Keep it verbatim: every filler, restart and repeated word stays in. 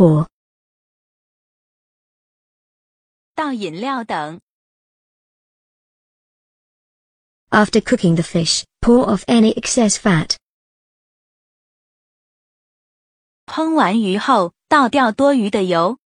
or 倒饮料等。 After cooking the fish, pour off any excess fat. 烹完鱼后，倒掉多余的油。